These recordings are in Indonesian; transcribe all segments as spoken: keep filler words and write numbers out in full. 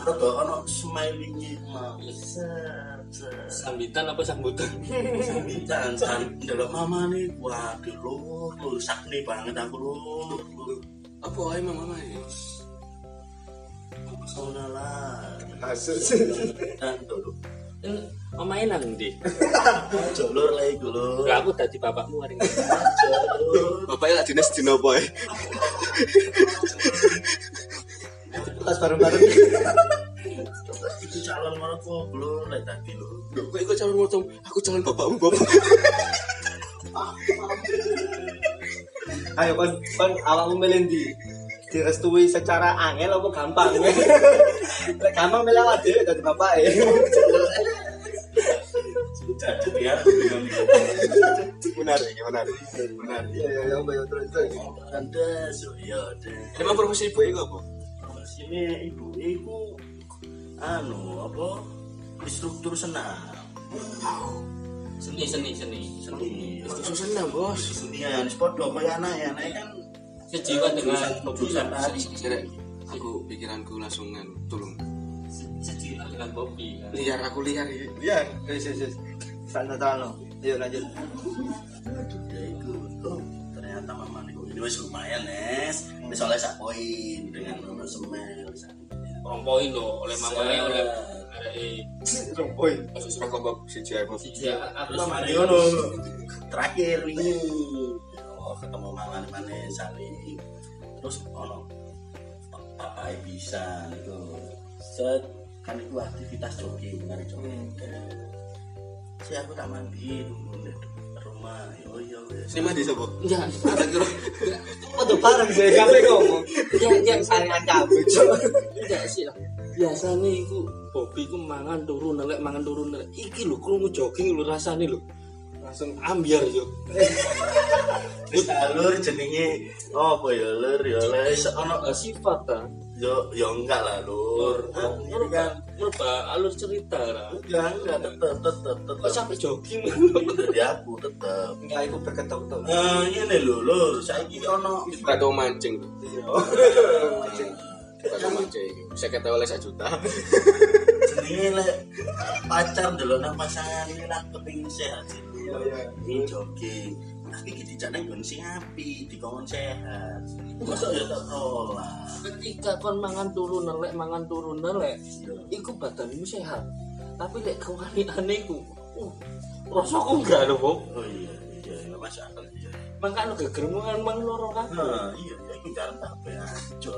rada ono smiling-e mau. Sambitan apa sambutan? Sambitan san ndelok mamane waduh lur lur sakne banget aku lur. Apa ae mama ya? Sauna lah. Kasus. Dan dulu. Omahe nang ndi? Jolur lah iku lur. Lah aku dadi bapakmu hari ini. Bapaknya lak dinas dino apa ae? Tas bareng-bareng. Itu calon mertua lur lek tadi lur. Lho, kok iku calon mocong, aku calon bapakmu, Bapak. Ayo kon kon awakmu milih ndi? Direstui secara angel apa gampang? Lek gampang milih awak dhewe dadi bapake. Jadi ya. Menarik, menarik. Menarik. Ya ya yang bayo terus terus. Anda so ya deh. Emang profesi ibu iku apa? Sini ibu iku anu apa instruktur senam. Seni seni seni. Seni. Itu senang, Bos. Senian podo kaya anak ya, anak kan Sejiwa dengan jurusan tadi. Sirek, aku pikiranku langsung kan tulung. sejiwa dengan Bobby kan. Liar aku liar ya. Iya, wis wis wis. Santai-santai. Ayo lanjut. Ya itu oh, ternyata mama nih ini wis lumayan Nes. Wis oleh sak poin dengan nomor semel. Rong poin lho oleh mamane oleh arek Rompoi. Kasus rokok bab siji ae, Bos. siji aku Terus sama mari ngono. Terakhir ini oh, ketemu mangan mana saling. Terus ono papai bisa itu. Set kan itu aktivitas jogging mari jogging. Si aku tak mandi dulu di rumah. Yo yo wis. Ini mandi sapa? enggak Tak kira. Foto bareng sih kape ngomong. enggak enggak Saringan cabut. enggak sih lah. Biasanya iku Bobby ku mangan turu nelek mangan turu nelek. Iki lho krungu jogging lho rasane lho. Langsung ambiar yo. Wis alur jenenge apa ya lur ya les ono Ono sifat ta. yo yo enggak lah lur. Ini kan merubah alur cerita lah. enggak enggak tetep tetep tetep. Kok sampai jogging? Dari aku tetep. Enggak iku berketok-ketok. Eh ini lho lur, saiki ono Kado mancing. Mancing. Kado mancing. Saya kata oleh satu juta. jenenge lek pacar delok nang pasangan ini lah kepengin sehat sih. Ini jogging. Tapi iki dijak nang nggon sing apik, dikon sehat. Mosok ya tak tolak. Ketika kon mangan turu nelek mangan turu nelek, iku badanmu sehat. Tapi lek kewanitane iku, uh, rasaku enggak lho, Bob. Oh iya, iya, iya masuk akal iya. Makane gegermu kan mang loro kan. Nah, iya, ya iku jalan tak beajo.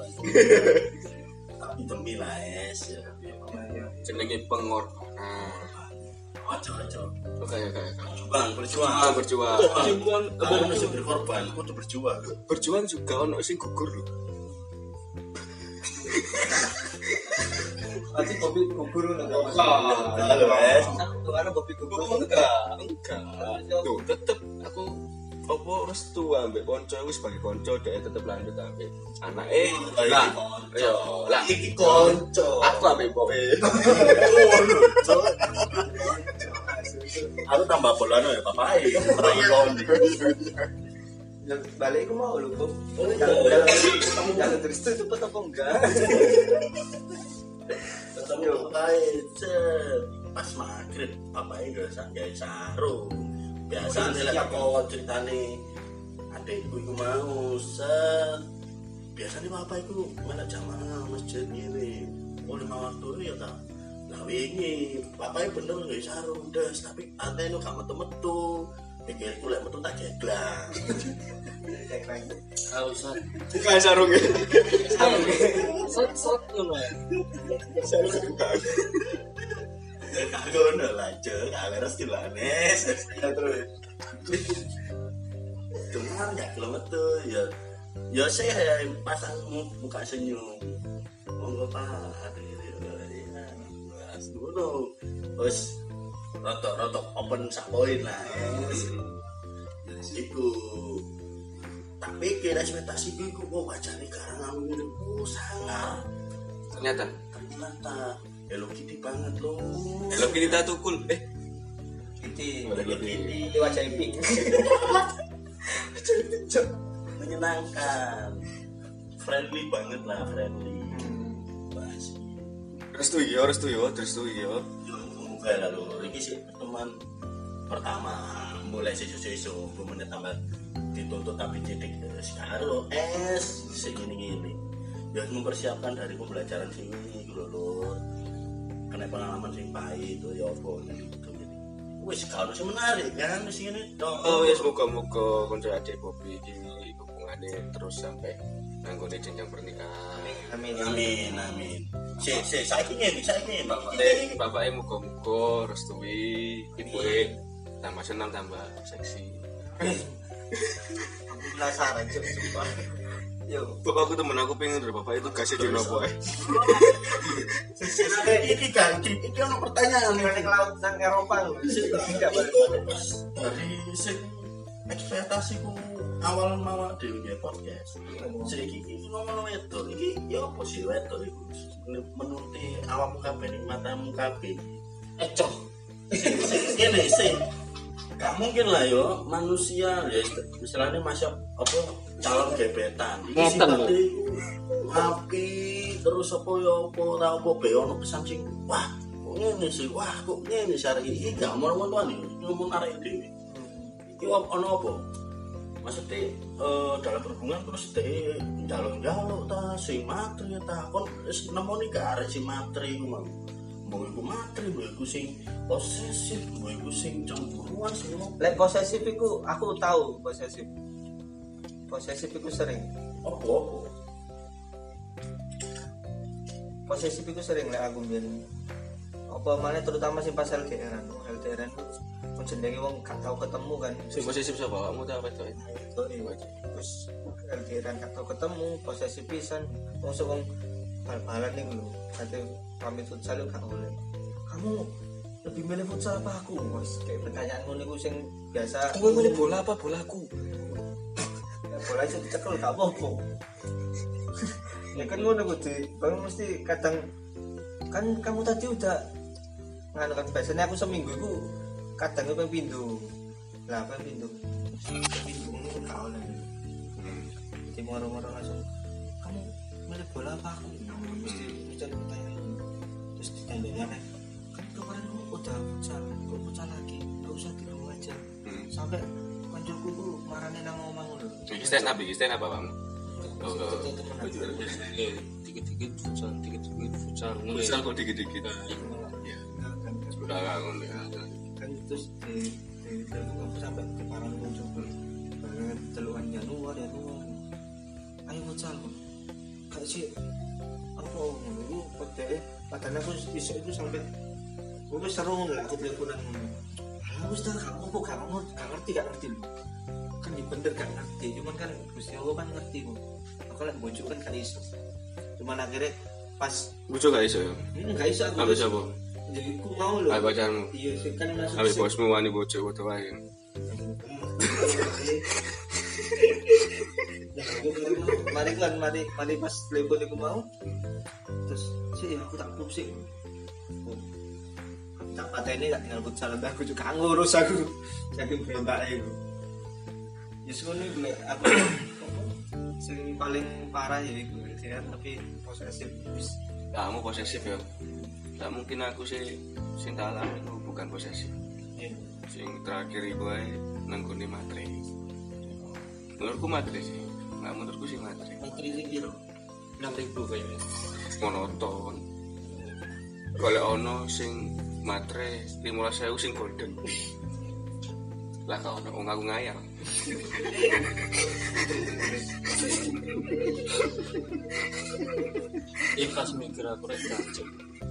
Tapi demi lah es ya. Jenenge pengorbanan. Ojo-ojo. Oke, oke, oke. Berjuang, berjuang. Ah, berjuang. Berjuang Kamu masih berkorban, aku tuh berjuang. Berjuang juga ono sing gugur lho. Pasti kopi kubur ngono ta, Mas. Halo, es. Tuh ana kopi kubur. Enggak, enggak. Tuh, tetep aku apa restu ambek konco wis sebagai konco dhek tetep lanjut ambek anake. Lah, yo, lah Iki konco. aku ambek bobe. Aku tambah bolano ya, papai. Rayon. Ya, balik aku mau lho, Bob. Oh, Jangan iya. jangan jangan terus itu cepet apa enggak? Ketemu papai, cet. Pas maghrib, papai gak sanggay sarung. Biasa nih lah kok ceritane adekku iku mau set. Biasanya papai iku mana jamaah masjid ngene. Oh lima waktu ya ta. Lah wingi papai bener gak sarung das, tapi antene gak metu-metu. Pikirku lek metu tak jeglang. Ah usah. Bukan sarunge. Set-set ngono. Sarunge bukan. Gak ngono lah, Cuk. Aleres dilanes. Terus. Cuman gak gelem metu ya. Ya saya pasang muka senyum. Monggo Pak. Wes ngono. Wes rotok-rotok open sak poin lah. Iku tak pikir ekspektasi gue kok mau wajahnya karangan ngene ku sangar. Ternyata Ternyata Hello Kitty banget loh. Hello kita tukul. Eh, Kitty. Hello Kitty Di wajah pink. menyenangkan, friendly banget lah friendly. Bas. restu iki yo restu yo restu iki yo Yo muga lalu iki sih teman pertama mulai sesu-sesu menit tambah dituntut tapi titik sekarang es segini-gini ya mempersiapkan dari pembelajaran sini gitu loh kena pengalaman sing pahit itu ya apa gitu gitu wis kalau sih menarik kan di sini dong oh ya semoga-moga konco adik Bobby iki hubungannya terus sampai nanggone jenjang pernikahan Amin. amin amin si si saiki ngene saiki ngene bapaknya bapaknya muga-muga restui ibuke tambah senang tambah seksi Aku penasaran cuk sumpah. Yo. bapakku temen aku pengen dari bapak itu kasih di nopo eh iki ganti iki ono pertanyaan Ning laut nang Eropa lho. Enggak balik. dari sing ekspektasiku awal mawar dhewe nge podcast saiki iki ngomong wedok iki ya apa sih wedok iku menuti awakmu kabeh ning matamu kabeh ecoh ngene sih gak mungkin lah yo manusia ya istilahnya masih apa calon gebetan iki Ngeten, sifatnya iku api terus apa ya apa ora apa be ono pesan sing wah kok ngene sih wah kok ngene sih arek iki gak ngomong-ngomong iki ngomong arek dhewe iki ono apa maksudnya eh, dalam berhubungan terus deh jalur-jalur ta sing materi ta kon wis nemoni gak arek sing materi iku mau mau iku materi mau iku sing posesif mau iku sing cemburuan sing ngono Lek posesif iku aku tahu posesif. Posesif iku sering. apa apa Posesif iku sering lek aku mbiyen. Apa malah terutama sing pas L D R-an. L D R-an ku pun jenenge wong gak tau ketemu kan. sing posesif sapa kamu ta apa itu Terus L D R-an gak tau ketemu, posesif pisan. Wong sok wong bal-balan niku lho. Kate pamit futsal gak boleh. Kamu lebih milih futsal apa aku? Wes kayak pertanyaan ngono niku sing biasa. kamu milih bola apa bolaku Bola iso dicekel gak apa-apa. Ya kan ngono kudu. Bang mesti kadang kan kamu tadi udah nganu kan biasanya aku seminggu iku kadang pengen pindu. Lah pengen pindu. Pindu ngono gak oleh. Jadi moro-moro langsung kamu milih bola apa aku? Mesti mencari pertanyaan. Terus ditanya kan kan kemarin kamu udah futsal, kok futsal lagi? Gak usah di rumah aja. Sampai kancaku ku marane nang omah ngono. iki stand up iki stand up apa kamu oh dikit-dikit futsal dikit-dikit futsal ngono misal kok dikit-dikit ya kan udah gak ngono ya kan terus di di aku sampai ke parang muncul banget teluan Januari Januari ayo futsal kayak sih apa ngono pada padahal aku iso itu sampai aku seru lah aku teleponan aku sudah kamu kok kamu gak ngerti gak ngerti loh kan di bener gak ngerti cuman kan Gusti Allah kan ngerti kok aku lagi bojo kan gak iso cuman akhirnya pas bujo gak iso ya ini gak iso aku ambil siapa jadi aku mau loh ambil pacarmu iya sih kan masuk ambil sih. bosmu wani bojo foto wae mari kan mari mari pas telepon aku mau terus sih aku tak pup sih tak pateni tak tinggal futsal aku juga ngurus aku saking berontak itu justru ini gue aku sing paling parah ya itu ya tapi posesif kamu posesif ya tak mungkin aku sih sing tak alami itu bukan posesif sing terakhir iku ae nanggone materi menurutku materi sih nggak menurutku sih materi menteri sing piro enam ribu kayaknya monoton golek ono sing materi lima belas ribu sing golden lah kau ono wong aku ngayal ikhlas mikir aku rek kacau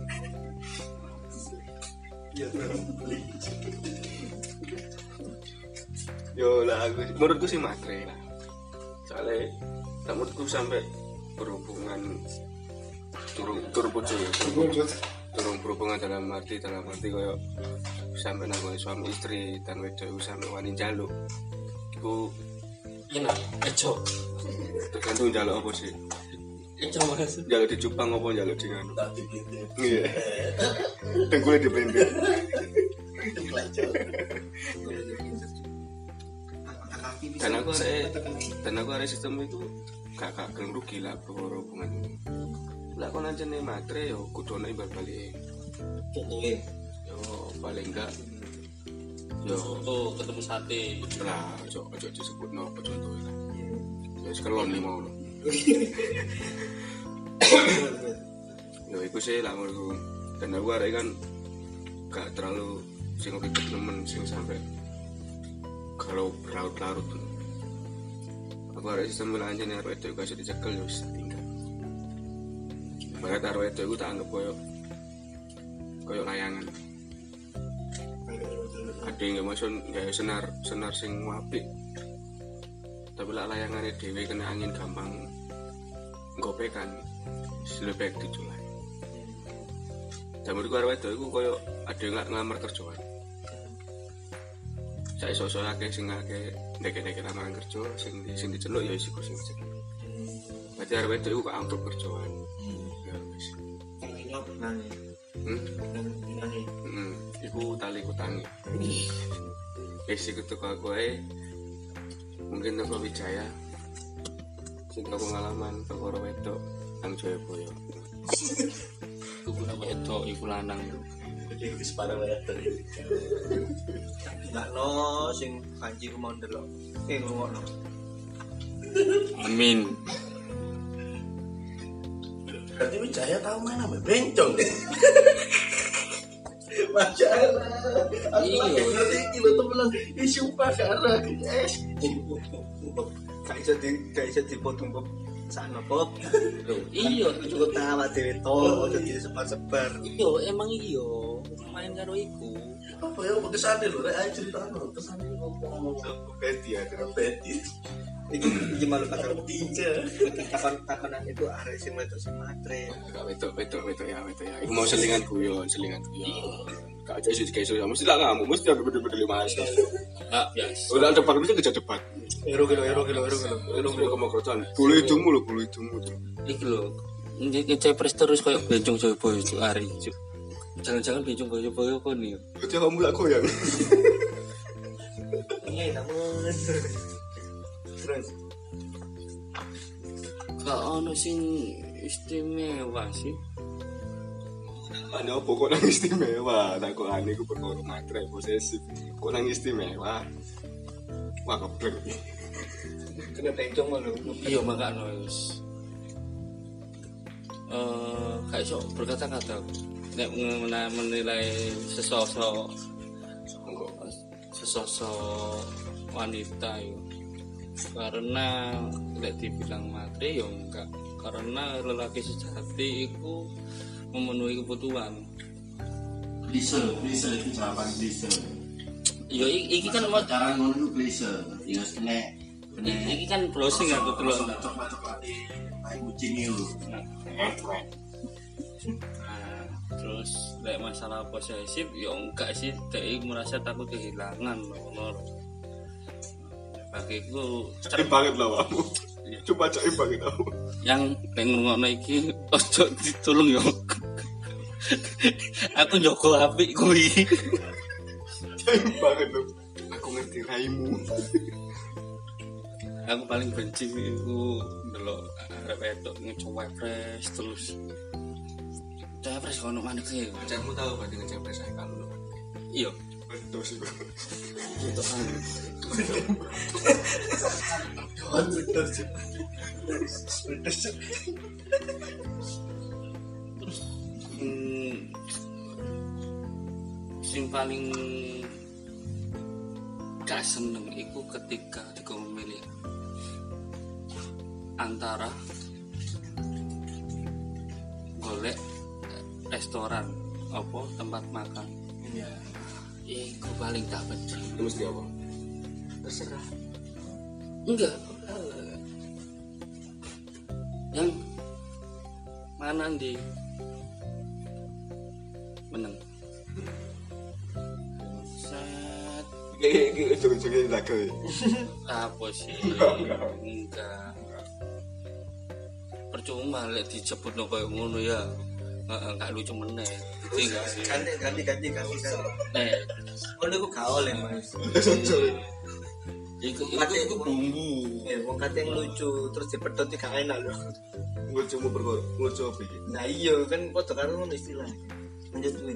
yo lah aku menurutku sih materi lah soalnya tak menurutku sampai berhubungan turun turun bojo ya turun berhubungan dalam arti dalam arti kayak sampai nanggone suami istri dan wedok sampai wani njaluk iku enak ecoh tergantung njaluk apa sih ecoh mas njaluk di Jepang apa njaluk di nganu tak dipikir iya dengkulnya diblender dan aku ada dan aku ada sistem itu gak gak gelem rugi lah berhubungan Lah kon ancene matre yo kudu ana imbal balik. Oke. Yo paling enggak yo Oh, ketemu sate. lah ojo ojo disebutno apa contohe lah. Ya wis kelon iki mau. Yo iku sih lah menurutku. Dan aku arek kan gak terlalu sing ribet nemen sing sampai kalau berlarut-larut. Aku arek sistem lanjane arek itu kasih dicekel yo wis tinggal. Barat arek itu aku tak anggap koyo koyo layangan. Ada yang masuk nggak senar senar sing apik, tapi lah layangannya dewi kena angin gampang gopekan, lebih baik dijual. Jamur gua arwah itu, aku koyo ada yang nggak ngelamar kerjaan. Saya sosok lagi sing lagi deket-deket lamaran kerja, sing di sing diceluk ya isiku sing diceluk. Berarti arwah itu aku angkat kerjaan. Ya wis. Nang. Hmm. Nang nang. Hmm. Iku tali kutangi. Wis iku teko aku ae. Mungkin teko Wijaya. Sing teko pengalaman teko wedok nang Jayabaya. Iku nama wedok iku lanang. Jadi wis para wedok. Enggak no sing kanji ku mau ndelok. Eh ngrungokno. Amin. Berarti Wijaya tahu main apa? Bencong. Masya Allah. Aku Iya. lagi ngerti iki lho temenan. Ih sumpah karena es. Gak iso di gak iso dipotong kok sana Bob. Iya, Cukup tawa dhewe to, ojo disebar-sebar. iya emang iya. Main karo iku. Apa ya kesane lho rek ayo critakno. Kesane ngomong Beti ya, karo Betty. iki iki malu takon Tinja. takon takonan itu arek sing wedok sing matre. Gak wedok wedok wedok ya wedok ya. Iku mau selingan guyon, selingan guyon. Gak aja sih kayak so, mesti lah kamu, mesti ada bener-bener lima hasil. Enggak biasa. Udah depan mesti kerja depan. Ero kilo ero kilo ero kilo. Lu mau kamu kerocan. Bulu hidungmu lo, bulu hidungmu tuh. Iki lho. Iki cepres terus koyo bencong Jayabaya cuk ari cuk. Jangan-jangan bencong Jayabaya kon nih. Berarti kamu lah goyang. Iya namun. Terus Gak ono sing istimewa sih. Ada apa kok nang istimewa? Tak kok aneh ku perkara matre posesif. Kok nang istimewa? Wah keblek. kena bencong malu. Iya makanya wis. Eh, gak iso berkata-kata. Nek men- menilai sesosok sesosok wanita itu. Karena tidak dibilang matre ya enggak. Karena lelaki sejati itu memenuhi kebutuhan. Klise, klise itu jawaban klise. Ya i- iki kan mau Cara ngono itu klise. Ya kena kena i- iki kan browsing aku delok. coba-coba di main kucing itu. Nah, terus lek masalah posesif ya enggak sih, dia merasa takut kehilangan loh. Bagiku Cair banget lah kamu. Coba cair banget kamu. yang pengen ngono iki ojo ditolong yo. Aku njogo apik kuwi. Cair banget loh. Aku ngerti raimu. Aku paling benci iku ndelok arek wedok ngecoba fresh terus. Capres kono maneh sih. Pacarmu tahu berarti ngecapres saya kamu loh. Iya. Betul sih. Untuk anu. Hmm, sing paling gak seneng iku ketika diko memilih antara golek restoran apa tempat makan. Iya. Iku paling tak benci. Itu mesti apa? Terserah. Enggak. Yang mana di menang. Set Kayak joget-joget lagu. apa sih? Enggak. Percuma lek dijebutno koyo ngono ya. Heeh, gak lucu meneh. Ngerti gak sih? Ganti ganti ganti ganti ganti. Eh, Oh niku gak oleh Mas. Iku Kate itu bumbu. Eh, wong kate lucu terus dipedhot iki gak enak lho. Ngucumu perkara ngucu apa iki? Nah iya kan padha karo ngono istilahnya. Lanjut Win.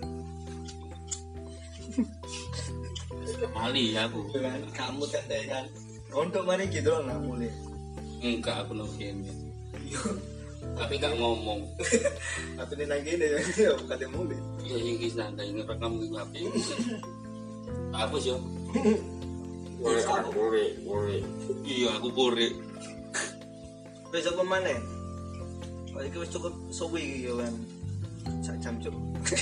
Mali aku. Kan kamu kan deh kan. Untuk mari gitu loh nggak mulai. Enggak aku nongkin. Tapi gak ngomong. Tapi ini lagi deh ya bukan yang mulai. Ya iki santai ngerekam iki H P. Apa sih? Woi, woi, woi. Iya aku pore. Besok kemana? Oh iki wis cukup suwi iki ya kan. Sak jam cuk.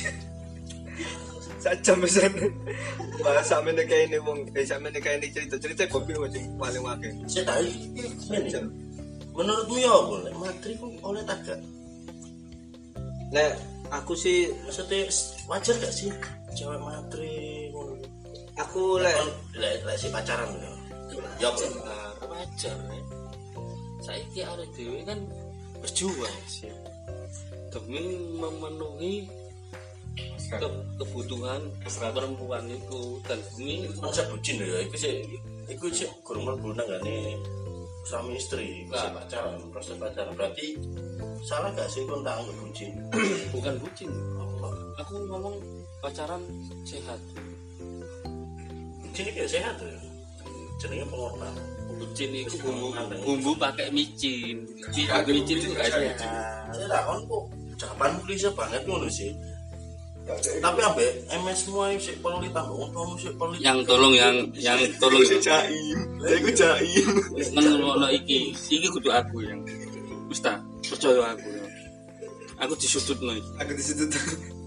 Sak jam pesan. Bahas sampe nek kene wong, eh sampe nek kene cerita-cerita kopi sing paling akeh. Saya tahu ini. Menurutmu ya apa? Lek matri ku oleh tak gak? Nek aku sih Maksudnya wajar gak sih cewek matri ngono? aku lek lek lek si pacaran ya. Ya apa? Wajar ya. Saiki arek dhewe kan berjuang sih. Demi memenuhi ke- kebutuhan perempuan itu dan demi Konsep bucin ya, itu sih, itu sih kurang mlebu nang ngene suami istri, bisa Nah. pacaran, proses pacaran. Berarti salah gak sih kon tak anggap bucin? bukan bucin. Apa? Aku ngomong pacaran sehat. Bucin iki sehat ya. Jenenge pengorban. Bucin itu bumbu bumbu pakai micin. Tidak micin itu gak sehat. Saya tak kon kok ucapan klise banget ngono sih. Tapi ambek M S semua sik perlu ditambah untung sik perlu. Yang tolong yang yang tolong Iku jaim. Iku jaim. mengelola iki. Iki kudu aku yang. Wis ta, percaya aku ya. Aku disudutno iki. aku di situ tuh.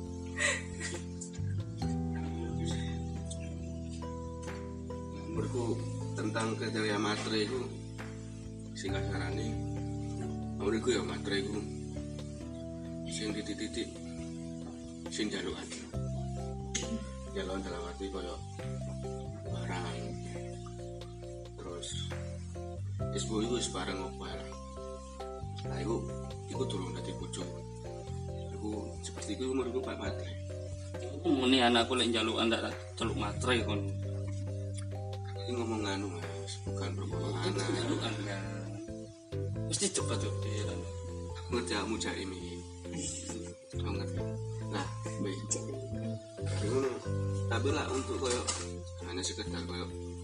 Menurutku tentang kriteria materi itu sing kasarane menurutku ya materi itu sing titik-titik sing jalukan jalukan dalam arti kaya barang terus isbu itu wis bareng ngopal nah itu itu turun dari bojo itu seperti itu menurutku pak materi Meni anakku lek njalukan tak celuk matre kon. ini ngomong anu mas bukan perkara anak Njalukan ya. Mesti cepat yo pikiran. ngerti kamu jaim ini kamu ngerti nah baik tapi ngono tapi lah untuk koyo hanya sekedar koyo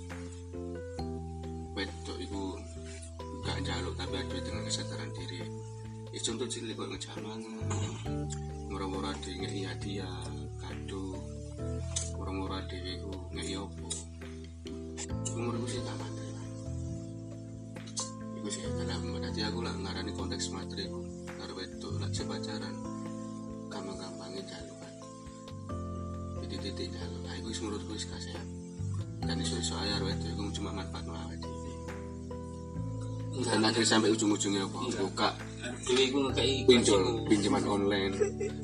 wedok itu gak njaluk tapi ada dengan kesadaran diri ya contoh cilik koyo ngejamangan murah-murah di ngei hadiah kado murah-murah dewe ku ngei opo umurku sih tak mati lah iku sih dalam berarti aku lah ngarani konteks materi ku karo wedok lak pacaran gampang-gampangnya jalukan titik-titik jaluk nah iku menurutku wis sehat dan iso-iso aja wedok iku cuma manfaat no awake dhewe dan akhirnya sampai ujung-ujungnya apa buka Dhewe iku ngekeki pinjol pinjaman online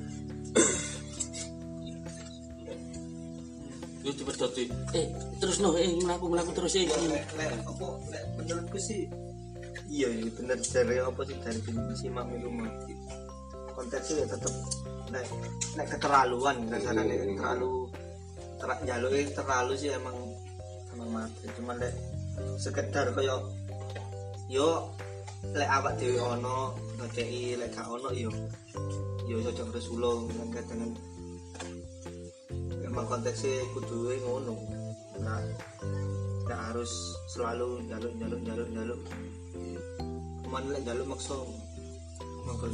Yo dipedoti. Eh, terus no, eh mlaku mlaku terus eh. Lek lek apa lek menurutku sih iya iya bener dari apa sih dari simak rumah konteksnya ya tetep lek lek keterlaluan kasarane Hmm. terlalu ter, jalur terlalu sih emang emang mati cuma lek sekedar kaya yo lek awak dhewe ono ngekei lek gak ono yo yo cocok resulo dengan dengan emang konteksnya kudu ngono nah nggak harus selalu jaluk jaluk jaluk jaluk kemana lek jaluk maksa maksa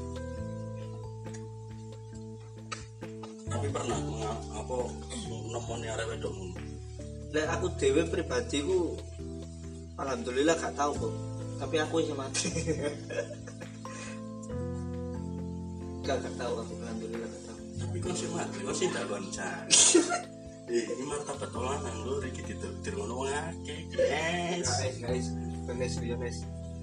Tapi pernah menga- apa nemoni arek wedokmu? lek aku dewe pribadi ku alhamdulillah gak tahu kok tapi aku isih mati gak gak tahu aku alhamdulillah gak tahu Tapi kon sing mati, kon sing dalon jan. Eh, ini martabat lanang lho iki ditetir ngono wong akeh, guys. guys guys guys guys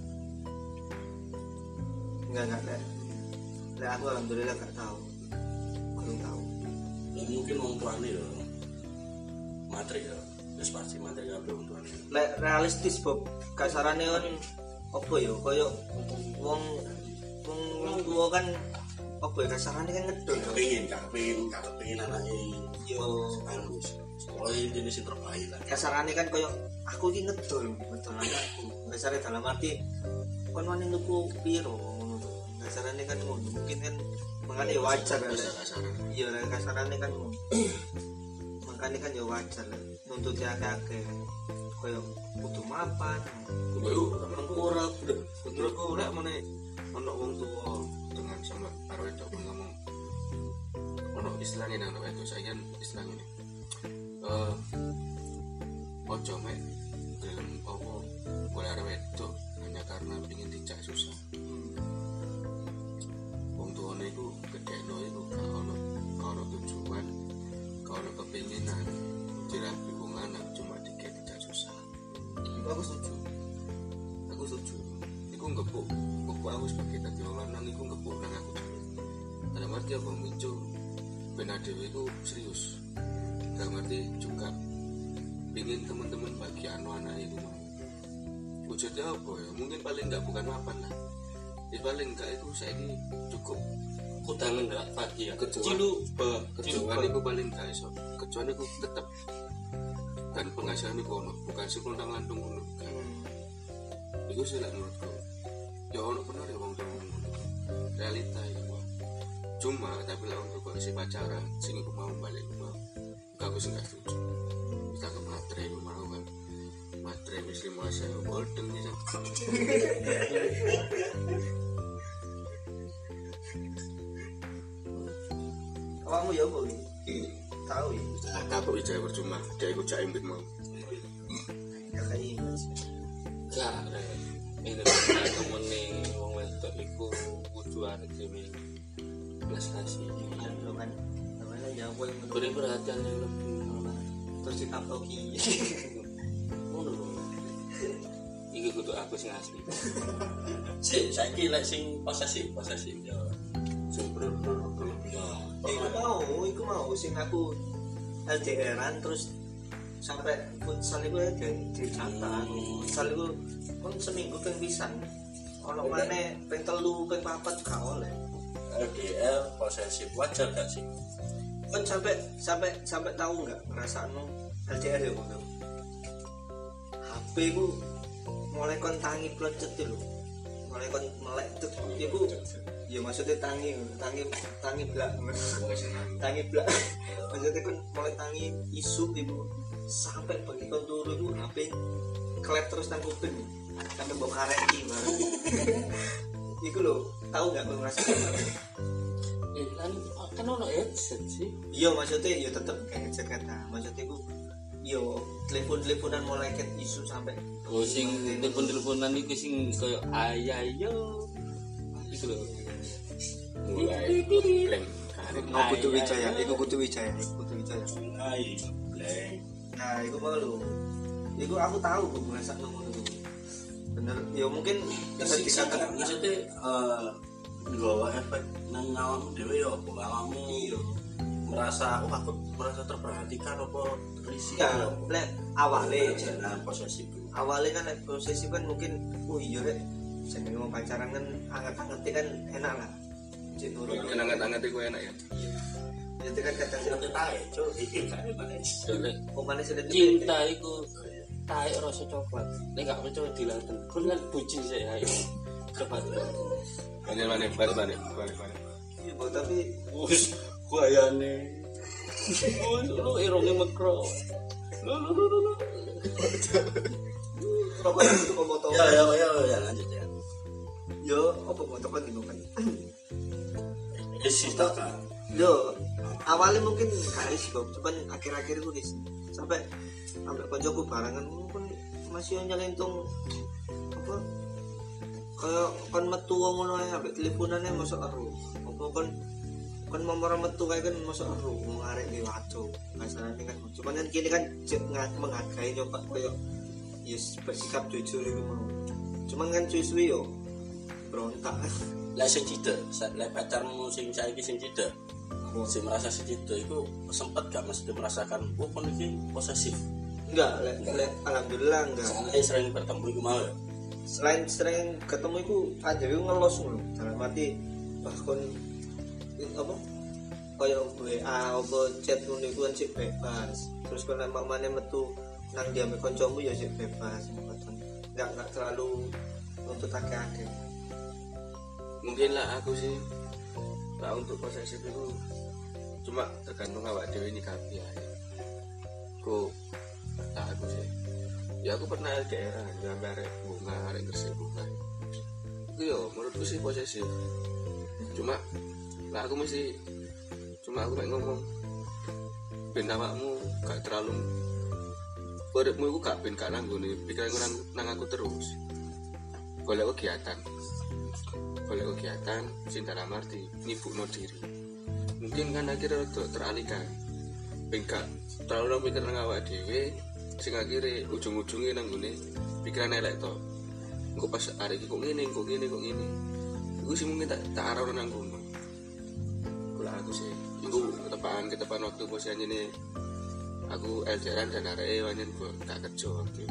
enggak enggak lek lek aku alhamdulillah gak tahu belum tahu Ya, mungkin wong tuane ya. Materi ya. Wis pasti materi kabeh wong tuane. lek realistis Bob kasarane kan apa ya koyo wong wong wong tua kan apa ya kasarane kan ngedol Gak pengen, gak pengen, gak pengen anake. yo bagus. Pokoknya jenis yang terbaik lah. kasarane kan koyo aku iki ngedol ngedol anakku kasarane dalam arti kon wani nuku piro ngono kasarane kan ngono mungkin kan makanya ya wajar lah kasar-kasaran. iya lah kasarane kan ngono makanya kan ya wajar lah nuntut ya akeh koyo kudu mapan Kudu mengkura, menurutku lek meneh ono wong tuwa dengan sama karo wedok pun ngomong ono istilahnya nang wedok saya kan istilah ngene. Eh ojo mek gelem apa golek arek wedok hanya karena pengen dijak susah. Wong tuwane iku gedhekno iku gak ono gak ono tujuan, gak ono kepinginan dirabi wong lanang cuma dikek dijak susah. aku setuju Aku setuju. Iku ngepuk, ngepuk aku sebagai tadi wong lanang iku ngepuk nang aku dhewe. Dalam arti apa muncul ben dhewe iku serius. Dalam arti juga ingin teman-teman bagian anak itu mau. Wujudnya apa ya? Mungkin paling enggak bukan mapan lah. Ya paling enggak itu saya ini cukup Kudangan enggak pagi ya. cilu bah kecuali itu paling enggak iso. Kecuali itu tetap dan penghasilan itu ono bukan sing nang lantung ngono. Itu sih lah menurutku. Ya ono bener ya wong tuwa ngono. Realita itu. Cuma tapi lah untuk kok si pacaran sing iku mau balik iku mau. Aku sih enggak setuju. Kita ke matre iku mau kan. Matre wis lima saya golden nih. kamu ya boy tahu ya Kapok ijazah percuma, dia ikut cak imbit mau. ya kayak mas Gak, ini kan temen wong wedok iku kudu arek dhewe prestasi. lo kan namanya jawab yang Beri perhatian yang lebih. terus dikaploki Ngono lho. Iki kudu aku sing asli. Si, saiki lek sing posesif, posesif ya. Sing berlebihan. iku mau iku mau sing aku L D R-an terus sampai futsal itu ya dicatat futsal itu kan seminggu ping pisan ono maneh ping telu ping papat gak oleh L D R posesif wajar gak sih? kan sampai sampai sampai tahu nggak ngerasakno L D R ya ngono H P ku mulai kon tangi plecet lho mulai kon melek tuh iku ya maksudnya tangi tangi tangi blak tangi blak maksudnya kan mulai tangi isu ibu sampai bagi kon turu itu H P klep terus nang kuping sampai bawa kareti bareng iku lho tahu nggak kon ngerasain Eh kan kan ono headset sih. iya maksudnya ya tetep kayak headset kata maksudnya iku yo telepon-teleponan mulai ket isu sampai Oh sing telepon-teleponan iku sing koyo ayayo. Iku lho. Mulai klaim karir. mau Putu Wijaya iku Putu Wijaya iku Putu Wijaya Ai, bleng. nah iku mau lho iku aku tahu kok ngerasa ngono tuh bener ya mungkin bisa dikatakan Maksudnya eh nggawa efek nang awakmu dhewe ya apa awakmu iya merasa oh aku merasa terperhatikan apa terisi ya lek awale nah posesif awalnya kan lek prosesi kan mungkin oh iya rek jenenge wong pacaran kan anget-anget kan enak lah cek nurut Yang anget-anget itu enak ya. jadi kan kadang nanti tae cuk iki kan bae Soale omane sudah cinta iku taek rasa coklat. Nek gak percaya dilaten. Kon kan bucin sih ayo. Coba. Banyak mana, balik balik, balik balik. iya Bang, tapi Wis gayane. Wis lu irone mekro. Lu lu lu lu. pokoknya itu foto ya ya ya ya lanjut ya yo apa foto kan gitu kan isi tak kan yo awalnya mungkin kali sih kok cuman akhir-akhir itu guys sampai sampai koncoku barangan mungkin masih nyelentung apa kayak kon metu wong ngono ae ambek teleponane mosok ero apa kon kon momor metu kae kan mosok ero wong arek di waco masalahnya kan cuman kan kini kan cek menghargai nyoba koyo yes bersikap jujur itu mau cuman kan cuy-cuy yo berontak lek sing cedek lek pacarmu sing saiki sing cedek sing merasa sing cedek iku sempet gak mesti merasakan oh kon iki posesif enggak lek lek alhamdulillah enggak soalnya sering bertemu iku mau ya selain sering ketemu itu aja itu ngelos ngono dalam arti bahkan apa koyo W A apa chat ngono iku kan sik bebas. Terus kalau mamane metu nang diame kancamu ya sik bebas. Enggak enggak terlalu untuk akeh-akeh. Mungkin lah aku sih lah untuk posesif itu cuma tergantung awak dewe ini kabeh ya. Ku tak aku sih. Ya aku pernah L D R nyampe arek bunga, arek gresik bunga. Itu yo menurutku sih posesif. Cuma lah aku mesti cuma aku mek ngomong ben awakmu gak terlalu uripmu iku gak ben gak nanggone pikiranku nang, nang aku terus. Golek kegiatan. Golek kegiatan sing dalam arti nyibukno diri. Mungkin kan akhirnya rada teralihkan. Ben gak terlalu mikir nang awak dhewe sing akhire ujung-ujunge nang ngene pikiran elek to. Engko pas arek iki kok ngene, kok ngene, kok ngene. Iku sih mungkin tak tak arah nang kono. Kula aku sih iku ketepan ketepan waktu posisi ini aku L D R dan arek wanyen kok gak kerja waktu.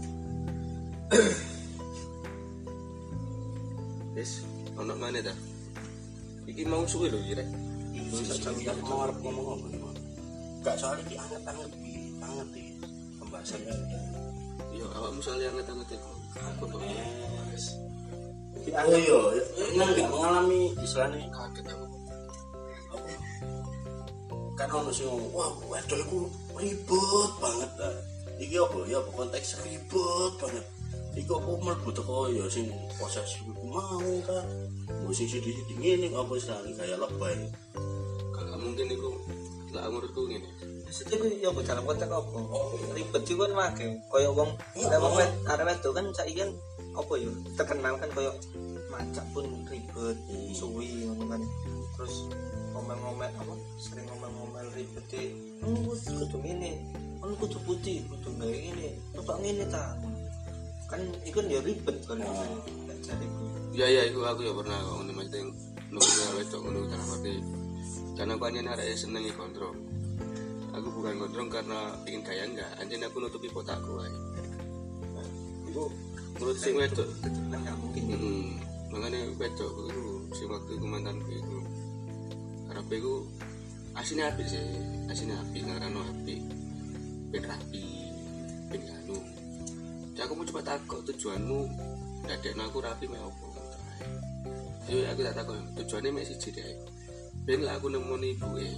Wis ono maneh ta. Iki mau suwe lho iki rek. Iki mau arep ngomong apa? Gak soalnya iki anget-anget iki, anget iki pembahasannya. Yo awakmu soalnya anget-anget iku. Aku kok Yes. Oh iya, emang gak mengalami istilahnya kaget aku. apa? Kan ono sing ngomong, wah wedok iku ribet banget ta. Iki apa ya apa konteks ribet banget. Iku apa mlebu teko ya sing posesif iku mau ta. Mbok sing sithik-sithik ngene apa istilahnya kayak lebay. Kalau mungkin iku lah menurutku ngene. Maksudnya ya apa dalam konteks apa? Ribet juga kan wake. Koyo wong lek wong wed arek wedok kan saiki kan apa ya terkenal kan koyo macak pun ribet, suwi ngono kan. Terus ngomel-ngomel apa? Sering ngomel-ngomel ribet e. Oh, kudu ngene. Kan kudu putih, kudu gawe ngene. Kok ngene ta? Kan iku ya ribet kan. Jariku. Ya ya iku aku ya pernah kok ngono mesti nunggu wedok ngono dalam arti karena aku anjen arek seneng kontrol. Aku bukan gondrong karena ingin kaya enggak, anjir aku nutupi botakku aja. Itu menurut sing wedok, Enggak mungkin. hmm, makanya wedok itu si waktu itu mantanku itu, karena aku aslinya api sih, aslinya api, karena api, ben rapi, ben anu. Jadi aku mau coba takut tujuanmu, dadekno aku rapi mau apa? Jadi aku tak takut tujuannya masih jadi, ben lah aku nemoni ibu eh.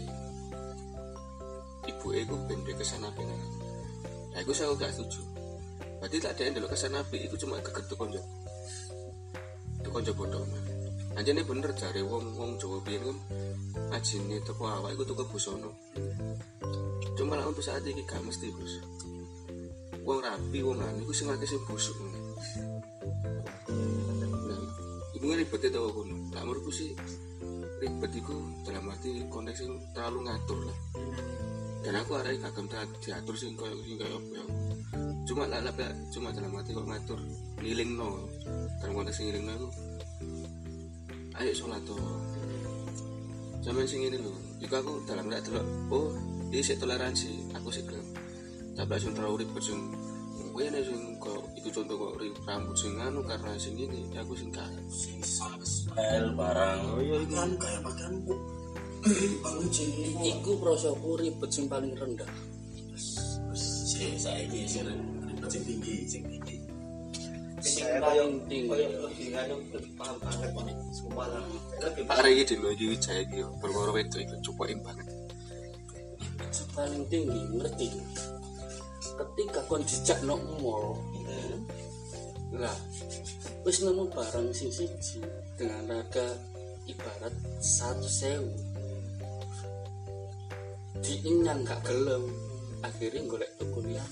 Ibu aku ben duwe kesan apik nang. Lah iku saya gak setuju. Berarti tak ada ndelok kesan apik iku cuma geget konco. Itu konco bodoh. Anjene bener jare wong-wong Jawa biyen kan ajine teko awak iku tuku busana. Cuma lah untuk saat ini gak mesti, Bos. Wong rapi wong anu iku sing akeh sing busuk. Nah, ibu ribet to kono. Lah menurutku sih ribet iku dalam arti konteks sing terlalu ngatur lah. Dan aku arek gak gelem diatur sing koyo sing koyo apa. Cuma lah lah cuma dalam arti kok ngatur ngilingno. Dalam konteks sing ngilingno iku ayo salat to. Sampeyan sing ngene lho. Iku aku dalam rek delok oh, iki sik toleransi, aku sik gelem. Tapi sing terlalu ribet sing kowe nek sing kok iku contoh kok rambut sing anu karena sing ngene, aku sing gak Sing style barang. Oh iya kan kayak pakaianku. Bangun sih. Iku prosoku ribet sing paling rendah. Si saiki sing ribet sing tinggi, sing tinggi. Sing Saya paling koyo tinggi. koyo lebih anu lebih paham banget nih. Semua lah. Lebih Pak Rey di Loji Wijaya iki yo perkara wedok iku cukukin banget. Sing paling tinggi ngerti. Ketika kon dijak nang mall, lah wis nemu barang sing siji dengan harga ibarat satu sewu. Diinyang gak gelem akhirnya golek tuku liya.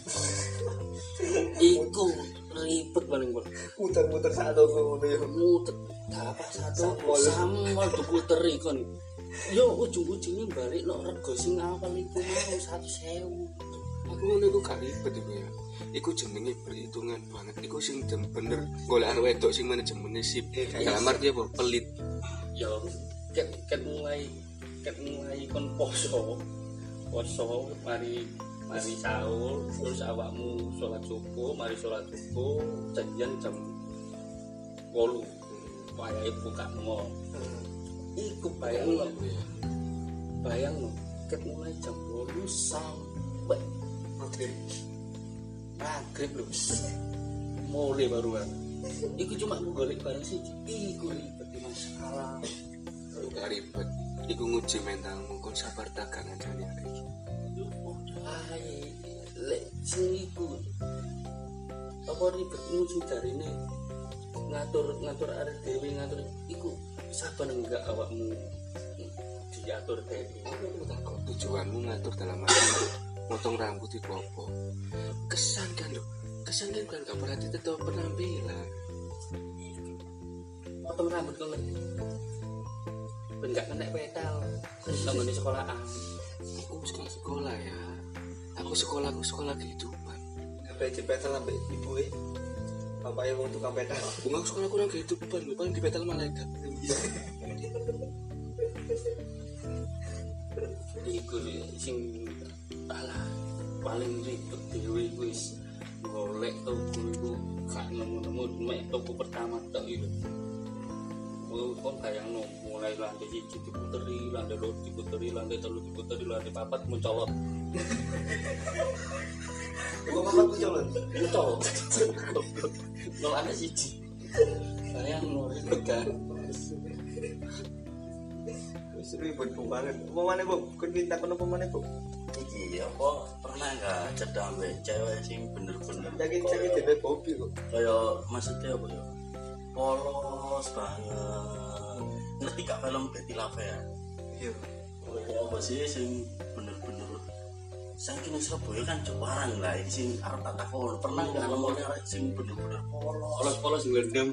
Iku ribet paling gol. muter-muter satu ngono ya. Mutet dapat satu samol tuku teri kon. Yo ujung-ujungnya balik no rego sing awal iku mau satu sewu. Aku ngono iku gak ribet iku ya. Iku jenenge perhitungan banget. Iku sing dem bener golek wedok sing manajemen sip. Dalam arti apa? Pelit. Yo ket ket mulai ket mulai kon poso. Poso mari mari sahur terus awakmu sholat subuh, mari sholat subuh janjian jam wolu wayahe buka mall. Iku bayangno bayang no ket mulai jam delapan sampai maghrib maghrib lho mulai baruan iku cuma golek barang siji iku ribet di masalah gak ribet iku nguji mentalmu kon sabar tekan aja nih hari ini ae lek sing iku apa ribet nguji darine ngatur ngatur arek dhewe ngatur iku sabar enggak awakmu diatur dhewe aku takut tujuanmu ngatur dalam arti untuk motong rambut itu apa kesan kan lho kesan kan kan gak berarti tetap penampilan potong rambut kok lek ben gak kena petal nang di sekolahan aku sekolah sekolah ya aku sekolah aku sekolah kehidupan sampai dipetal sampai ibu eh bapaknya mau tukang petal bunga sekolah kurang kehidupan lu paling dipetal malaikat iku sing alah paling ribet dhewe wis golek toko iku gak nemu-nemu mek toko pertama tok iku. Kok bayangno mulai lantai siji diputeri, lantai loro diputeri, lantai telu diputeri, lantai papat mencolot. kok papat mencolot Mencolot. Nol ada siji. Bayangno ribet kan. wis ribet banget apa maneh Bu kun kita kono apa maneh Bu Iki apa pernah enggak cedak ambek cewek sing bener-bener yakin cewek dhewe hobi kok kaya maksudnya apa ya? Polos banget. Ngerti gak film Betty Lavea? iya Kaya apa sih sing bener-bener saking Surabaya kan Jepang lah iki sing arep tak takon. Pernah enggak nemoni arek sing bener-bener polos? Polos-polos ngendem.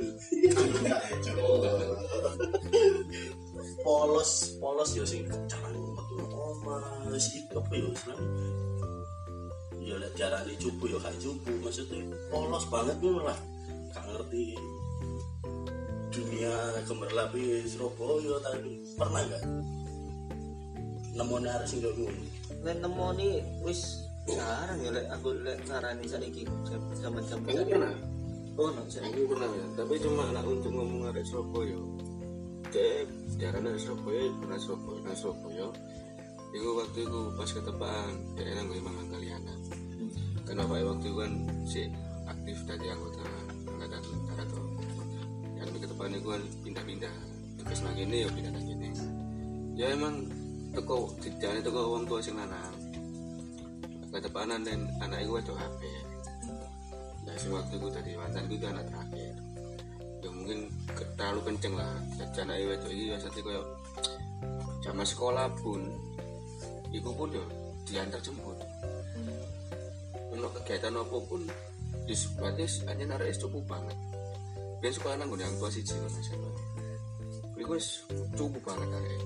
Polos, polos ya sing jarang metu omah. Wis iki apa ya istilahnya? Ya lek diarani cupu ya gak cupu, maksudnya polos banget ngono lah. Gak ngerti dunia gemerlap di Surabaya tadi. Pernah enggak? Nemoni arek sing ngono. nek nemoni wis jarang ya lek aku lek ngarani saiki zaman-zaman aku pernah oh no saya aku pernah ya tapi cuma anak untuk ngomong arek Surabaya dek diarani arek Surabaya pernah Surabaya nang Surabaya iku waktu itu pas ketepaan dek nang nggo mangan kaliana kan bapaknya waktu itu kan si aktif dari anggota angkatan darat tuh yang di ketepaan itu kan pindah-pindah tugas nang kene ya pindah nang kene ya emang teko dijane teko wong tua sing lanang ketepanan dan anak iku wedok H P nah sing waktu itu dari mantan itu anak terakhir ya mungkin ke- terlalu kenceng lah jadi anak wedok iki biasanya koyo zaman sekolah pun iku pun yo diantar jemput ono kegiatan apapun disebutnya hanya narik cukup banget biar sekolah nang yang tua siji kan SMA iku wis cukup banget narik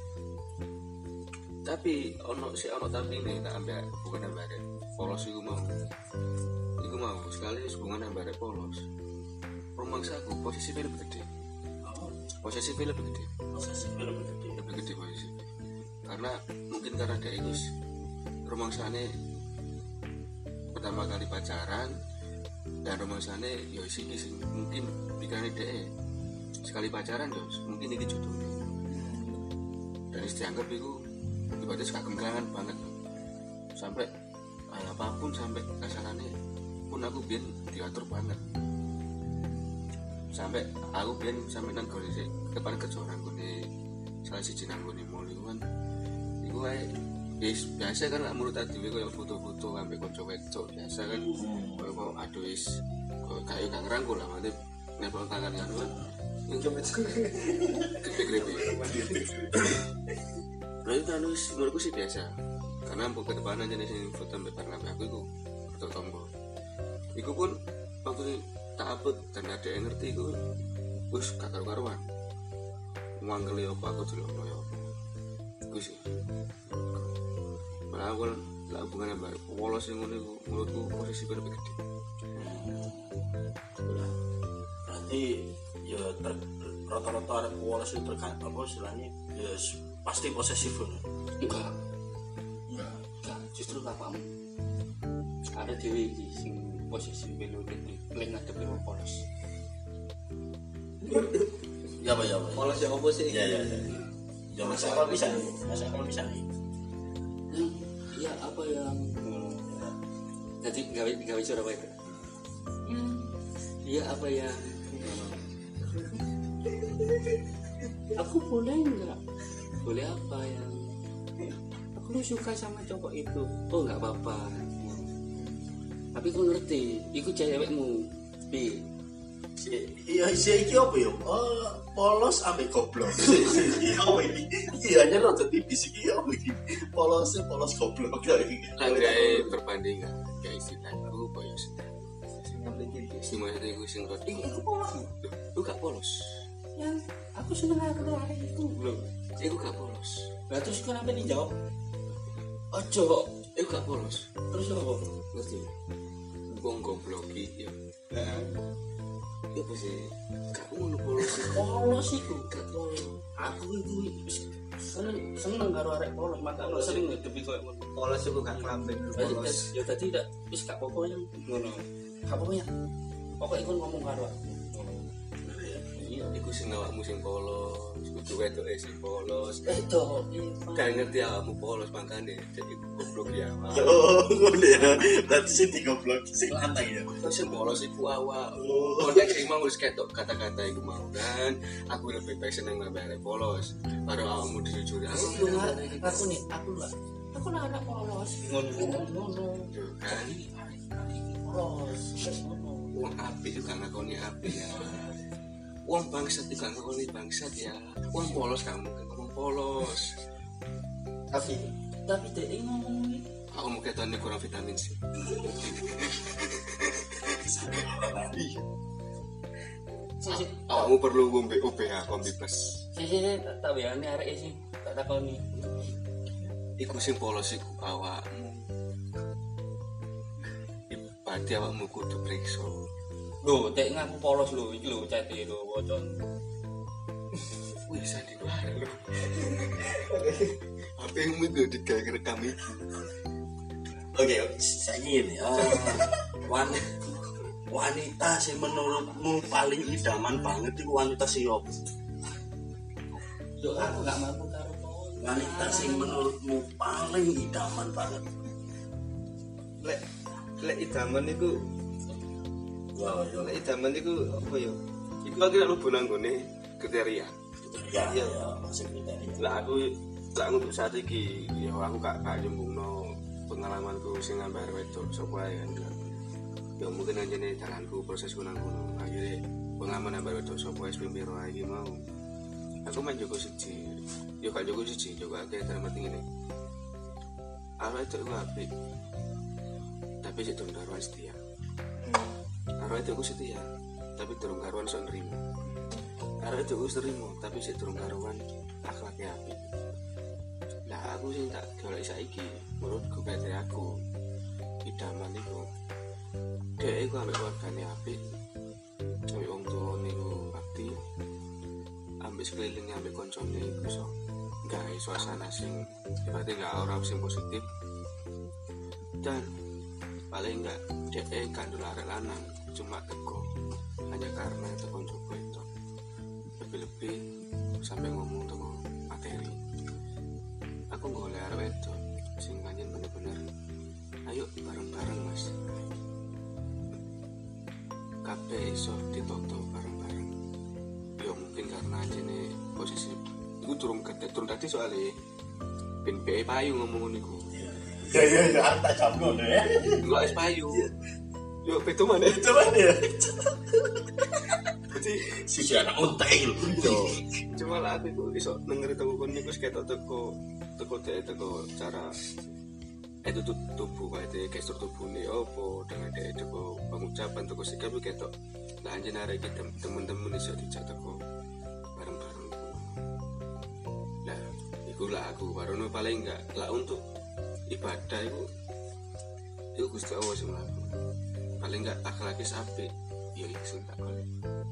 tapi ono si ono tapi ini tak ambil bukan ambil polos iku mau iku mau sekali hubungan ambil polos rumangsa aku posisi lebih gede posisi lebih gede Proses film gede. lebih gede posisi karena mungkin karena dia itu rumangsane pertama kali pacaran dan rumangsane ya sih mungkin pikirannya dia sekali pacaran terus mungkin ini jodohnya dan dianggap itu ibaratnya kagem kelangan banget sampai kayak apapun sampai kasarannya pun aku biar diatur banget sampai aku biar sampai nang gone sik depan kerja nang gone salah siji nang gone mall iku kan iku kae wis biasa kan lak menurut tadi koyo foto-foto sampai kanca wedok biasa kan koyo kok aduh wis kok kayak gak ngerangkul lah mate nepal tangan kan gede-gede berarti kan wis menurutku sih biasa karena mbok kedepanan jenis ini foto sampai bareng aku iku foto tombol iku pun waktu tak upload dan ada yang ngerti iku wis gak karu-karuan manggel apa aku delok yo iku sih malah aku lah hubungan ambek polos sing ngono iku menurutku posisi lebih gede Berarti ya ter- rata-rata arek polos itu tergantung apa istilahnya ya s- pasti posesif kan. Enggak. Enggak. Enggak. Justru bapakmu. Ada dewi iki sing posisi belo gede, lek ngadepi wong polos. Ya apa ya apa. polos yang apa sih Ya ya ya. Ya Mas Eko bisa nih, Mas Eko bisa nih. Hmm, iya apa yang jadi gawe gawe suara apa itu? Hmm, iya apa yang aku boleh enggak? Boleh apa yang aku lu suka sama cowok itu? Oh nggak apa-apa. Tapi kau ngerti, ikut cewekmu, bi. Iya, sih iki apa ya? Oh, polos ambek goblok. Iya, iki. Iya, nya rada tipis iki ya iki. Polosnya polos goblok kayak iki. Langgae perbandingan, kayak istilahku koyo seneng. Sing maksud iku sing rada Iku polos. lu gak polos. Yang aku seneng aku hari itu loh. Iku gak polos. Lah terus kenapa dijawab? Ojo, Iku gak polos. terus apa? Ngerti? Wong goblok iki ya. Heeh. Ya apa sih? Gak ngono polos. Polos iku. Gak polos. Aku itu seneng seneng karo arek polos, maka aku sering ngedepi koyo ngono. Polos iku gak klambing polos. Ya tadi tidak wis gak apa-apa yang ngono. Gak apa-apa ya. Pokoknya ikut ngomong karo aku. Iya, Iku sing awakmu sing polos, kudu wedoke sing polos. itu. Gak ngerti awakmu polos makane jadi goblok ya. Yo, ngono ya. Berarti sing digoblok sing lantai ya. Terus sing polos iku awak. Konteks sing mau wis ketok kata-kata iku mau kan. Aku lebih baik seneng nambah polos. Karo awakmu dijujur. Aku lu aku nih, aku lah. Aku lah anak polos. Ngono ngono. Kan Polos. Ngono. wong apik juga ngakoni apik ya. Wong bangsat juga ngakoni bangsat ya. Wong polos kamu kan ngomong polos. Tapi Tapi dia ngomong ini. Aku mau ketone kurang vitamin C. Sisi, Kamu perlu ngombe O B H kombi plus. sisi, tak tahu ya ini arek sih, tak tahu nih. Iku sing polos iku awakmu. Berarti awakmu kudu periksa. Loh, tek ngaku polos lho, iki lho cete lho, wocon. Wih, sadi bae lho. Apa yang mau digawe rekam iki? Oke, saya ini wanita wanita sing menurutmu paling idaman banget itu wanita siapa? Yo aku gak mampu karo polos. Wanita sing menurutmu paling idaman banget. lek lek idaman iku Wow, yo. lek idaman iku apa ya? Iku akhirnya lu bunanggone kriteria. Ya, ya, ya, masih kriteria. Lah aku lah untuk saat iki ya aku gak gak nyembungno pengalamanku sing ngambar wedok sapa ae kan. Ya mungkin anjene dalanku prosesku nang kono. Akhire pengalaman ngambar wedok sapa wis piro iki mau. Aku main Joko siji. Yo gak Joko siji, Joko akeh dalam arti ngene. Awake itu apik. Tapi sik durung karuan setia. Karo itu aku setia, tapi durung karuan sok nrimo. Karo itu aku nrimo, tapi sik durung karuan akhlaknya apik. Lah aku sing tak golek saiki, menurutku kriteria aku idaman iku. Dhek iku ambek keluargane apik. Ambek wong tuane iku bakti. Ambek sekelilinge ambek koncone iku iso gawe suasana sing berarti gak aura sing positif. Dan paling enggak dhek kandul arek lanang cuma teko hanya karena teko Joko itu lebih-lebih sampai ngomong teko materi. Aku golek arek itu sing pancen bener-bener ayo bareng-bareng mas kabeh iso ditoto bareng-bareng. Ya mungkin karena anjene posisi iku durung gede durung dadi soalnya ben be payu ngomong niku. Ya, ya, ya, tak jamno deh. Enggak es payu. Yo beto mana? Coba ya. Jadi Si anak untail. yo cuma lah aku iku iso denger teko kon niku ketok teko teko dek teko cara itu tubuh kayak gestur tubuhnya opo dengan dek teko pengucapan teko sikap ketok. Lah anjen arek iki temen-temen iso dijak teko bareng-bareng. Lah iku lah aku barono paling enggak lah untuk ibadah itu itu Gusti Allah sing mlaku. Paling enggak akhlakis apik ya iku sing tak golek.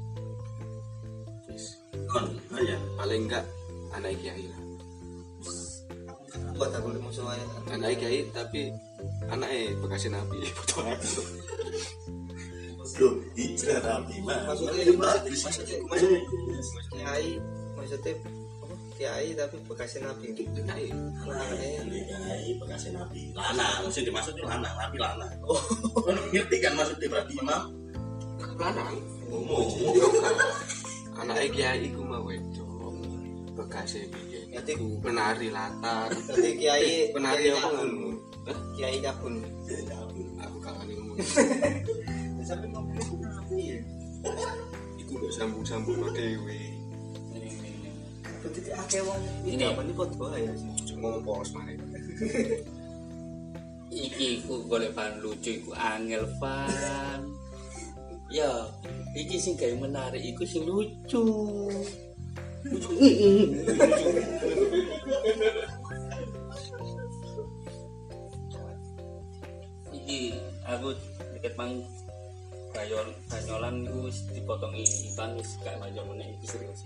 Wis Kon, ya. paling enggak anak kiai lah. Buat aku lemu soalnya. Anak kiai tapi anaknya bekasi nabi foto aku. Loh, hijrah rapi mah. Maksudnya Itu maksudnya bagus. maksudnya maksudnya kiai maksudnya apa? kiai tapi bekasnya nabi. Kiai. Anake kiai bekasnya nabi. Lanang, sing dimaksud itu lanang, nabi lanang. Oh, ngerti kan maksudnya berarti imam? Lanang. Umum. Anake kiai iku mau wedok. Bekasnya biyen. Berarti Penari latar. berarti kiai Penari apa ngono? Kiai cabul. Aku kangen ngomong. Sampai ngomongnya ku nabi ya. Iku mbok sambung-sambung dhewe. Berarti akeh wong Ini. iki apa nih padha ya sih. Ngomong polos mare. Iki ku golek bahan lucu iku angel fan. Ya, iki sing gawe menarik iku sing lucu. Lucu. Iki aku deket mang Bayon banyolan iku wis dipotongi ikan wis gak maju meneh iki serius.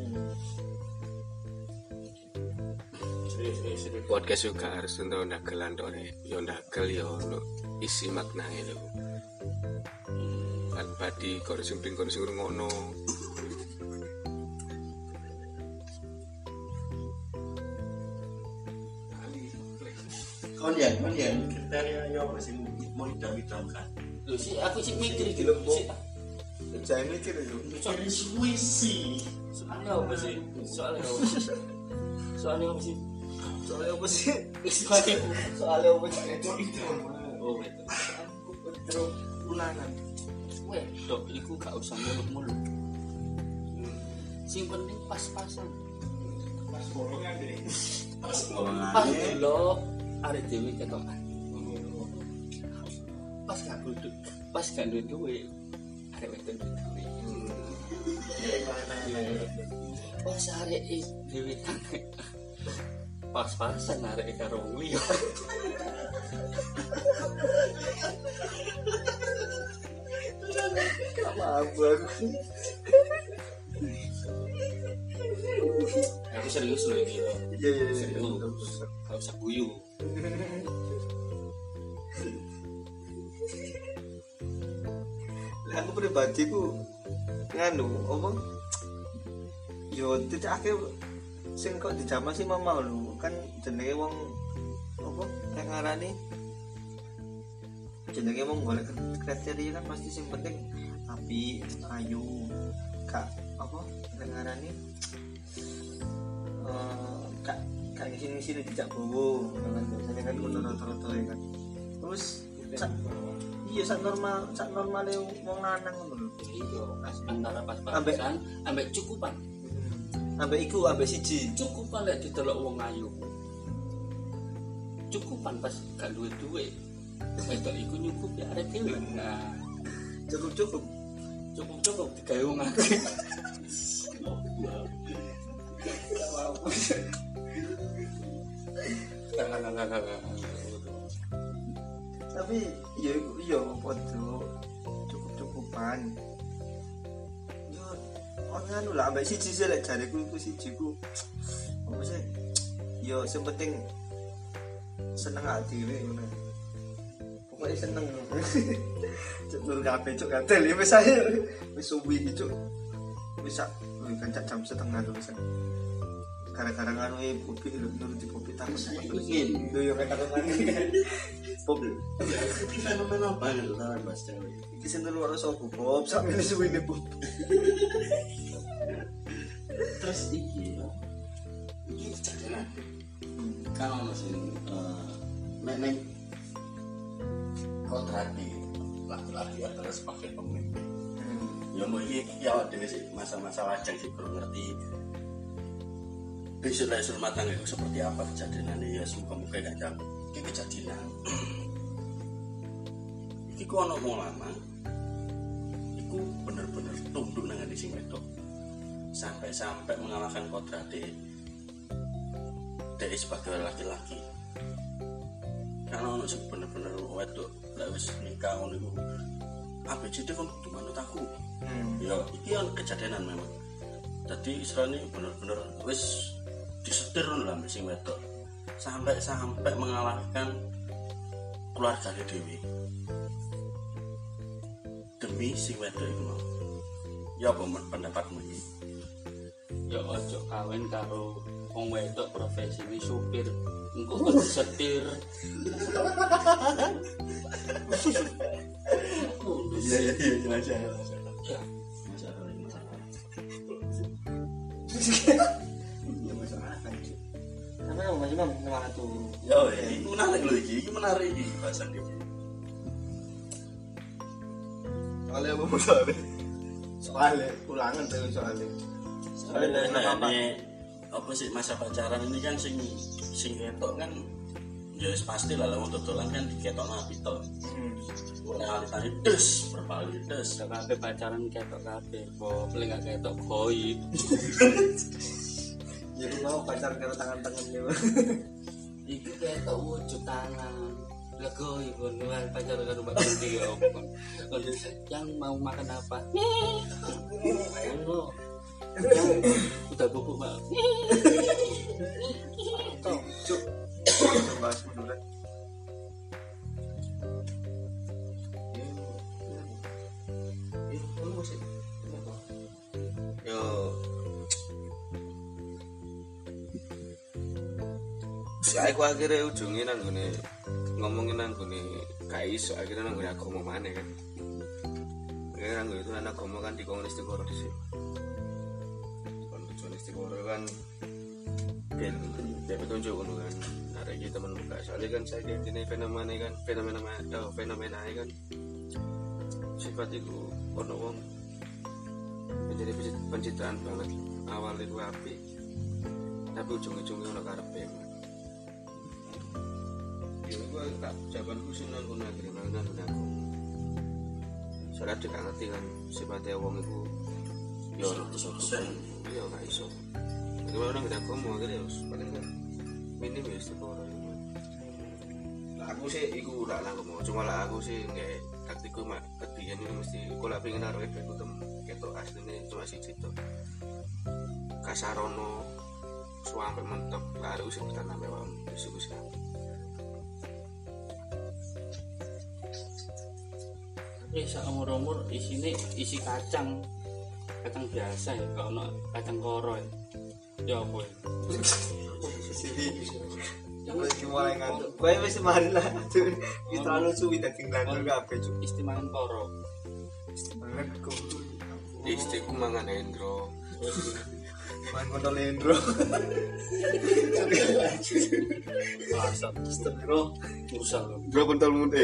Serius serius serius. Podcast juga harus untuk dagelan tok nek yo dagel yo ono isi maknane lho. Kan badi kok sing ping kok sing ngono. Kon ya, kon ya kriteria yo apa sing mau idam-idamkan. Lho sih aku sih mikir iki Lho, lho. Bu. Jangan mikir itu. Mikir suwisi. Soalnya apa sih? Soalnya apa sih? Soalnya apa sih? Soalnya apa sih? Soalnya Soalnya apa sih? oh betul. Terus ulangan. Weh, dok, iku gak usah muluk-muluk. Sing penting pas-pasan. Pas bolongan deh. Pas Pas ngomongane. dulu arek dhewe ketokan. Pas gak duduk, pas gak duduk arek wedok duwe. Pas arek dhewe tangi. Pas-pasan arek karo wong liya. Apa aku? Aku serius loh ini. Iya iya iya. Serius. Gak usah guyu. Lah aku pribadi ku nganu apa? Yo tidak akeh sing kok dijamah sih mama lho kan jenenge wong apa nek ngarani jenenge wong golek kriteria kan pasti sing penting api ayu kak apa nek ngarani eh kak kak ngisi ngisi dijak bowo kan biasanya kan kudu rata-rata ya kan terus sak- iya sak normal sak normale wong lanang ngono lho Iya, pas antara pas-pasan ambek cukupan. ambek iku ambek siji Cukupan lek didelok wong ayu. Cukupan pas gak duwe duwe. Wedok iku nyukupi arek dhewe. Nah, cukup cukup cukup-cukup digawe wong akeh. tapi iya iya podo cukup cukupan yo orang anu lah ambek siji sih lek jariku iku siji ku apa sih yo sing penting seneng ati dhewe ngono pokoknya seneng cetur kabeh cuk gatel ya wis ae wis suwi cuk wis sak kan jam setengah lho wis gara-gara nganu e Bobi lho nuruti Bobi takut Ingin. lho yo kata ngene Bobi Iki fenomena banget lah Mas Dewi. iki sing telu ora sapa Bob sak mene suwine Bob Terus iki ya. Iki kejadian. Kan ono sing eh meneng kontradi laki-laki adalah sebagai pemimpin. Ya mau iki ya dhewe sih masa-masa lajang sih perlu ngerti. Besok lah rumah tangga itu seperti apa kejadiannya ya semoga-moga gak jam iki kejadian. Iki ku ono wong lanang. Iku bener-bener tunduk nang ngene sing wedok. Sampai-sampai mengalahkan kodrate dari sebagai laki-laki. Karena ono sing bener-bener wedok lek wis nikah ngono iku A B C D kon kudu manut aku. Ya iki kan kejadianan memang. Jadi istilahnya bener-bener wis disetir lah mbek sing wedok. Sampai-sampai mengalahkan keluargane dhewe. Demi sing wedok iku mau. Ya apa men- pendapatmu iki? Ya ojo kawin karo wong wedok profesine supir engko kok setir. Iya iya iya jelas ya. Ya, Ya masalah kan. Apa yang masih mam semangat tuh. Yo, ini menarik loh iki, iki menarik iki bahasan iki. Soalnya apa soalnya? Soalnya ulangan tuh soalnya. Soalnya apa apa sih masa pacaran ini kan sing sing ketok kan ya wis pasti lah wong dodolan kan diketokno api to. Hmm. Ora alitane des berbalik des. sak kabeh pacaran ketok kabeh, kok paling gak ketok koi. Ya lu mau pacar karo tangan-tangan dia. Iki ketok wujud tangan. Lego ibu luar pacar karo Mbak Kunti ya opo. Yang mau makan apa? Ayo. Udah bubuk, Mbak. Tuh, cuk. Bahas menurut. Yo si aku akhirnya ujungnya nang gini ngomongin nang gini gak iso akhirnya nang gini agama mana kan akhirnya nang gini itu nang agama kan di komunis Istiqoroh di sini kan tujuan Istiqoroh kan biar biar petunjuk kan kan ada gitu teman buka soalnya kan saya ini fenomena kan fenomena oh, fenomena kan sifat itu ono wong menjadi pencitraan banget awal itu api tapi ujung-ujungnya ono karepe ya gue tak jawabanku sih nang kono akhirnya nang nang aku soalnya dia gak ngerti kan sifatnya wong itu ya seratus persen iya gak iso jadi kalau nang aku mau akhirnya harus paling kan minim ya Istiqoroh lah aku sih iku lah aku mau cuma lah aku sih nggak taktiku mak ketian ini mesti aku lah pengen naruh efek itu ketok aslinya cuma sih situ kasarono suampe mentok baru sih bertanam mewah diskusi Tapi sak umur-umur isine isi kacang. Kacang biasa ya, kalau ono kacang koro ya. Ya apa ya? Sini. Lagi mulai ngantuk. Kowe wis mari lah. Iki terlalu suwi dadi nglantur kabeh, cuk. Istimangan koro. Banget kok. istriku mangan Hendro Main kontol Hendro. Masa Astagfirullah. usah lho. bro kontol muda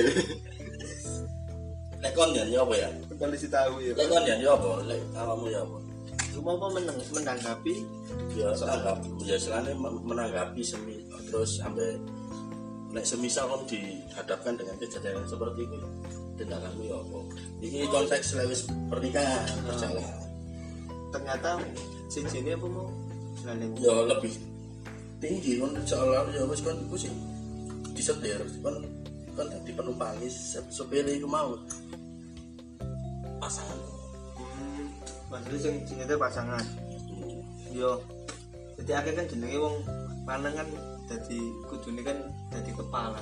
lek kon ya apa ya Kontol isi tahu ya. lek kon ya apa lek awakmu ya apa Cuma apa menang menanggapi ya anggap ya selane menanggapi semi terus sampai nek semisal kon dihadapkan dengan kejadian seperti itu tindakanmu ya apa ini konteks lewis pernikahan berjalan ternyata sing sini apa mau jalan ya lebih tinggi kon soalnya ya wis kon iku sih disetir kon kon dadi penumpang sepele iku mau pasangan maksudnya sing sing itu pasangan yo jadi akhirnya kan jenenge wong lanang kan dadi kudune kan dadi kepala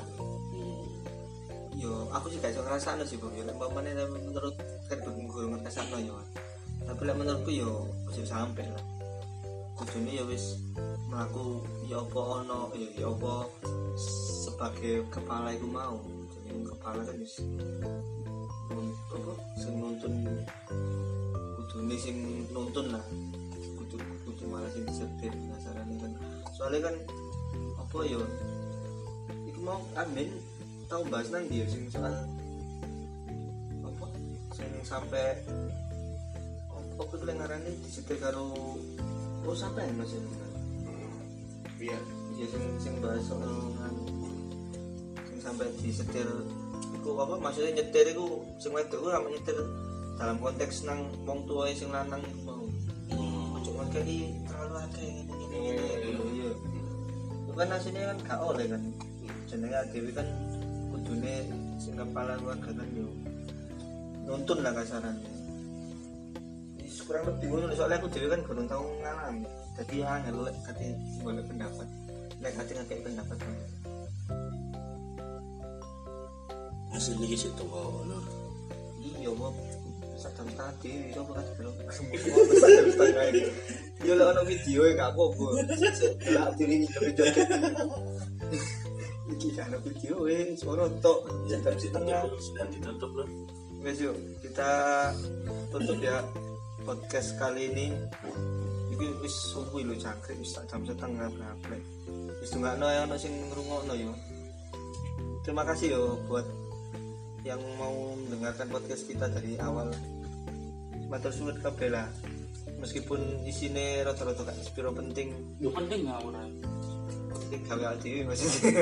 yo aku sih gak iso ngrasakno sih Bang yo lek mamane menurut kan gue ngrasakno yo tapi lek menurutku yo wis sampe lah kudune ya wis mlaku ya apa ono ya ya apa sebagai kepala iku mau jadi kepala kan wis apa sing nuntun kudune sing nuntun lah kudu kudu malah sing disetir nasarane kan soalnya kan apa ya iku mau amin tau bahas nang dia sing soal apa sing sampai apa kudu ngarani disetir karo oh sampai Mas ya iya ya sing sing bahas soal nganu sing sampai disetir iku apa maksudnya nyetir iku sing wedok iku ora nyetir dalam konteks nang wong tuwa sing lanang iku mau ojo ngekeki terlalu akeh ngene-ngene lho iya itu kan asline kan gak oleh kan jenenge dhewe kan kudune sing kepala keluarga kan yo nuntun lah kasarannya wis kurang lebih ngono soalnya aku dhewe kan gurung tau ngalami dadi angel lek kate golek pendapat lek kate ngekeki pendapat kan hasil iki sik tuwa lho iya kok sak kadang tadi itu apa tadi belum setengah ini yo lek ono video e gak apa-apa lak diri video iki kan video e suara tok Ya jam tapi setengah sedang ditutup loh. wes yuk kita tutup ya podcast kali ini iki wis subuh lho cangkrik wis jam setengah berapa wis dungakno ya ono sing ngrungokno yo terima kasih yo buat yang mau mendengarkan podcast kita dari awal. Matur suwun kabeh lah. Meskipun isine rada-rada gak sepiro penting, Yo penting nggak ora. penting gawe dhewe maksudnya.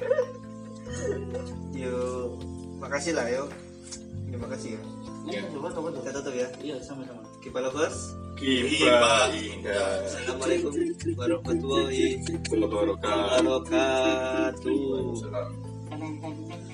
Yo, makasih lah yo. Terima kasih ya. Iya, coba coba Kita tutup ya. Iya, sama-sama. Kipa lovers. Kipa indah. Assalamualaikum warahmatullahi wabarakatuh. wabarakatuh. Waalaikumsalam. Kan kan kan